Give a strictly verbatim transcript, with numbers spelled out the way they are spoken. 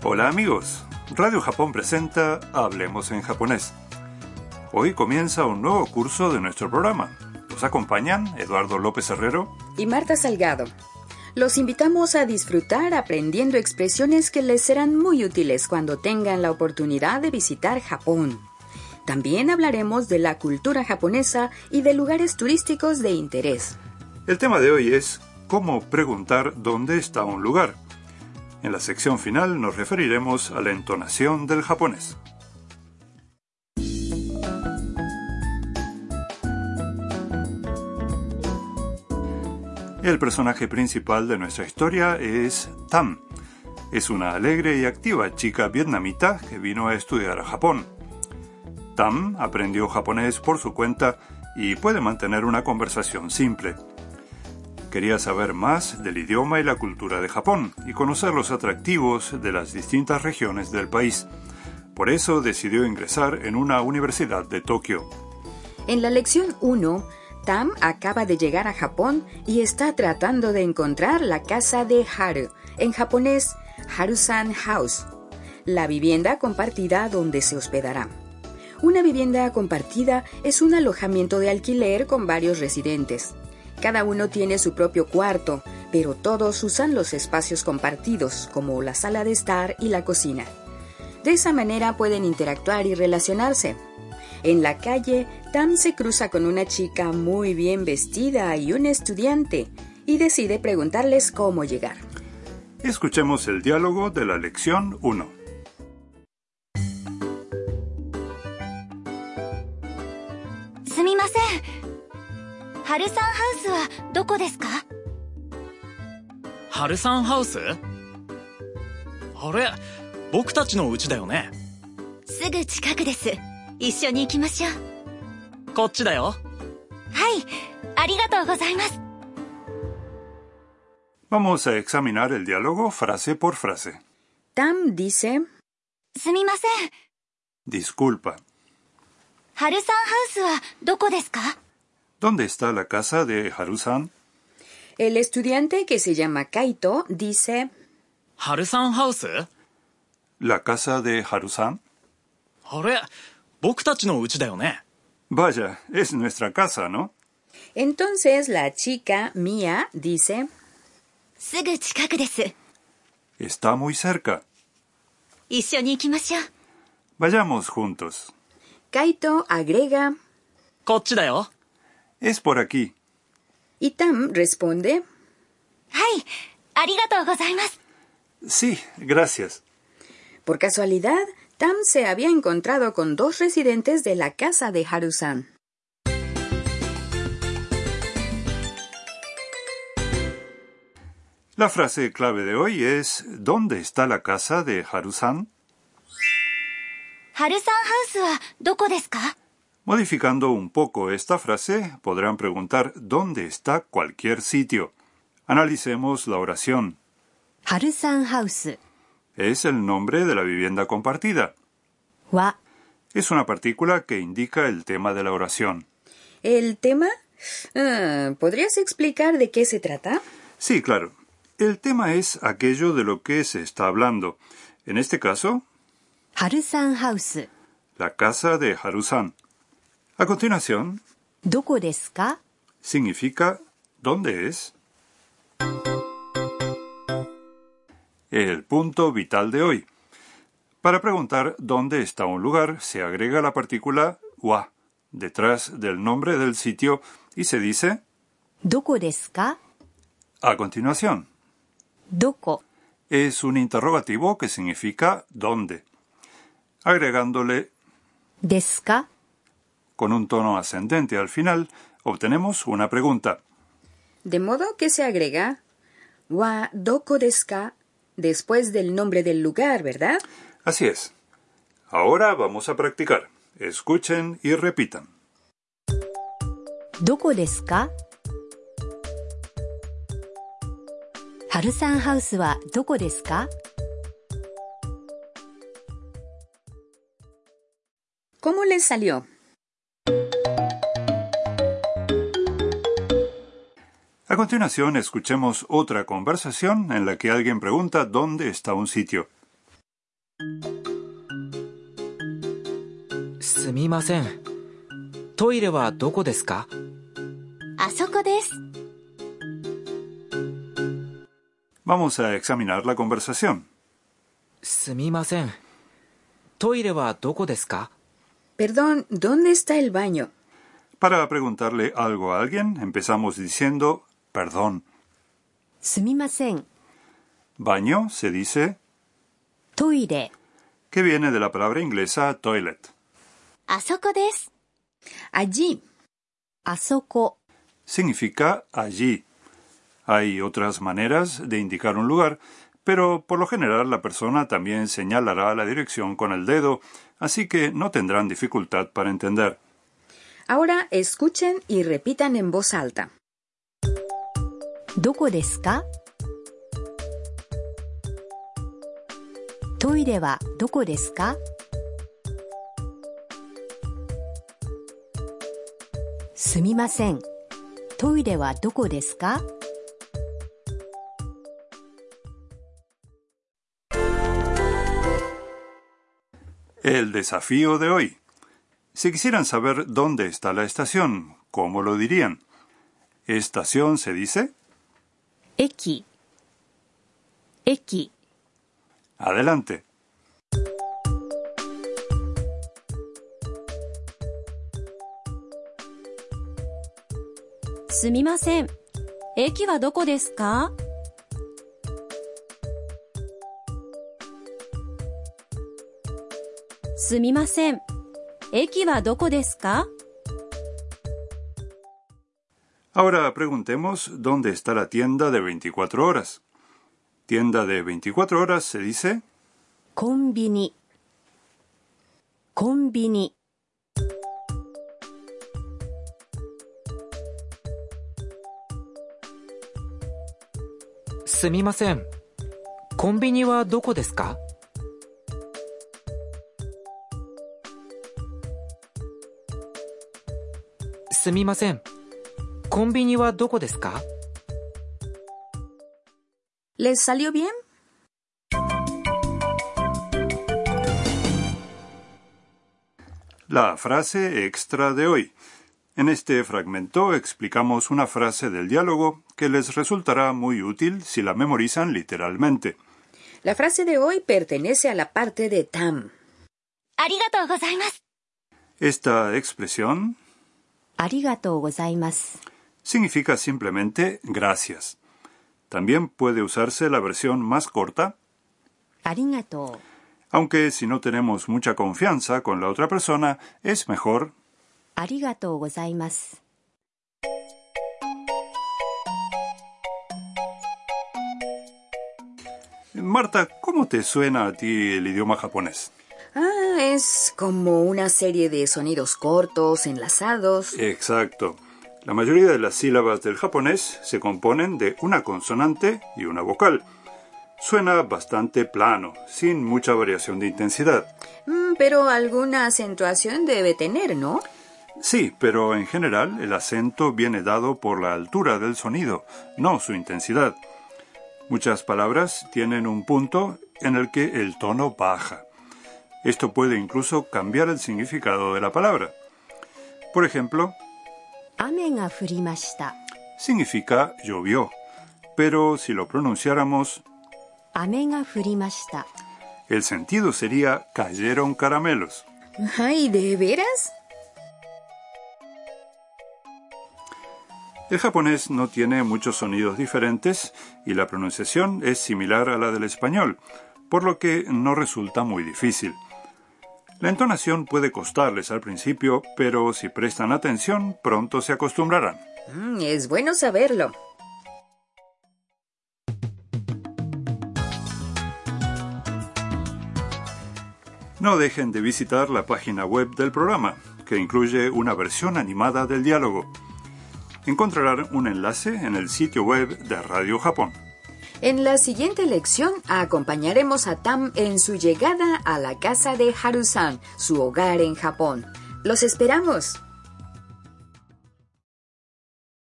Hola amigos, Radio Japón presenta Hablemos en japonés. Hoy comienza un nuevo curso de nuestro programa. Nos acompañan Eduardo López Herrero y Marta Salgado. Los invitamos a disfrutar aprendiendo expresiones que les serán muy útiles cuando tengan la oportunidad de visitar Japón. También hablaremos de la cultura japonesa y de lugares turísticos de interés. El tema de hoy es cómo preguntar dónde está un lugar. En la sección final nos referiremos a la entonación del japonés. El personaje principal de nuestra historia es Tam. Es una alegre y activa chica vietnamita que vino a estudiar a Japón. Tam aprendió japonés por su cuenta y puede mantener una conversación simple. Quería saber más del idioma y la cultura de Japón y conocer los atractivos de las distintas regiones del país. Por eso decidió ingresar en una universidad de Tokio. En la lección uno, Tam acaba de llegar a Japón y está tratando de encontrar la casa de Haru, en japonés Haru-san House, la vivienda compartida donde se hospedará. Una vivienda compartida es un alojamiento de alquiler con varios residentes. Cada uno tiene su propio cuarto, pero todos usan los espacios compartidos, como la sala de estar y la cocina. De esa manera pueden interactuar y relacionarse. En la calle, Tam se cruza con una chica muy bien vestida y un estudiante, y decide preguntarles cómo llegar. Escuchemos el diálogo de la lección uno. すみません。ハルさんハウスはどこですか？ ハルさんハウス？あれ、僕たちの家だよね。 すぐ近くです。一緒に行きましょう。 こっちだよ。 はい、ありがとうございます。 Vamos a examinar el diálogo frase por frase. Tam dice: すみません。 Disculpa. ハルさんハウスはどこですか？ ¿Dónde está la casa de Haru-san? El estudiante, que se llama Kaito, dice: ハルさんハウス？ ¿La casa de Haru-san? あれ、僕たちの家だよね。 Vaya, es nuestra casa, ¿no? Entonces la chica, Mia, dice: すぐ近くです。 Está muy cerca. 一緒に行きましょう。 Vayamos juntos. Kaito agrega: こっちだよ。 Es por aquí. y Tam responde: はい、ありがとうございます。 Sí, gracias. Por casualidad, Tam se había encontrado con dos residentes de la casa de Haru-san. La frase clave de hoy es ¿dónde está la casa de Haru-san? ハルさんハウスはどこですか？ Modificando un poco esta frase, podrán preguntar ¿dónde está cualquier sitio? Analicemos la oración. ハルさんハウス Es el nombre de la vivienda compartida. は Es una partícula que indica el tema de la oración. ¿El tema? Ah, ¿podrías explicar de qué se trata? Sí, claro. El tema es aquello de lo que se está hablando. En este caso, ハルさんハウス la casa de Haru-san. A continuación, どこですか？ significa ¿dónde es? El punto vital de hoy. Para preguntar dónde está un lugar, se agrega la partícula wa detrás del nombre del sitio y se dice どこですか？ a continuación. どこ Es un interrogativo que significa ¿dónde? Agregándole ですか？ con un tono ascendente al final, obtenemos una pregunta. De modo que se agrega wa doko desu ka después del nombre del lugar, ¿verdad? Así es. Ahora vamos a practicar. Escuchen y repitan. どこですか？ハルさんハウスはどこですか？ ¿Cómo les salió? A continuación, escuchemos otra conversación en la que alguien pregunta dónde está un sitio. すみません。トイレはどこですか？ あそこです。 Vamos a examinar la conversación. すみません。トイレはどこですか？ Perdón, ¿dónde está el baño? Para preguntarle algo a alguien, empezamos diciendo perdón. すみません。 Baño se dice トイレ。 que viene de la palabra inglesa toilet. あそこです。 Allí. あそこ。 Significa allí. Hay otras maneras de indicar un lugar, pero por lo general la persona también señalará la dirección con el dedo, así que no tendrán dificultad para entender. Ahora escuchen y repitan en voz alta. どこですか？トイレはどこですか？すみません。トイレはどこですか？ El desafío de hoy. Si quisieran saber dónde está la estación, ¿cómo lo dirían? ¿Estación se dice? 駅。駅。 Adelante. すみません。駅はどこですか？すみません。駅はどこですか？ Ahora preguntemos dónde está la tienda de veinticuatro horas. Tienda de veinticuatro horas se dice コンビニ。コンビニ。 すみません。コンビニはどこですか？すみません。コンビニはどこですか？ ¿Les salió bien? la frase extra de hoy. En este fragmento explicamos una frase del diálogo que les resultará muy útil si la memorizan literalmente. La frase de hoy pertenece a la parte de Tam. ありがとうございます。 Esta expresión ありがとうございます。 significa simplemente gracias. También puede usarse la versión más corta, ありがとう。 aunque si no tenemos mucha confianza con la otra persona, es mejor ありがとうございます。 Marta, ¿cómo te suena a ti el idioma japonés? Ah, es como una serie de sonidos cortos, enlazados. Exacto. La mayoría de las sílabas del japonés se componen de una consonante y una vocal. Suena bastante plano, sin mucha variación de intensidad. Mm, pero alguna acentuación debe tener, ¿no? Sí, pero en general el acento viene dado por la altura del sonido, no su intensidad. Muchas palabras tienen un punto en el que el tono baja. Esto puede incluso cambiar el significado de la palabra. Por ejemplo, 雨が降りました。 significa llovió, pero si lo pronunciáramos, 雨が降りました。 el sentido sería cayeron caramelos. Ay, ¿de veras? El japonés no tiene muchos sonidos diferentes y la pronunciación es similar a la del español, por lo que no resulta muy difícil. La entonación puede costarles al principio, pero si prestan atención, pronto se acostumbrarán. Mm, es bueno saberlo. No dejen de visitar la página web del programa, que incluye una versión animada del diálogo. Encontrarán un enlace en el sitio web de Radio Japón. En la siguiente lección acompañaremos a Tam en su llegada a la casa de Haru-san, su hogar en Japón. ¡Los esperamos!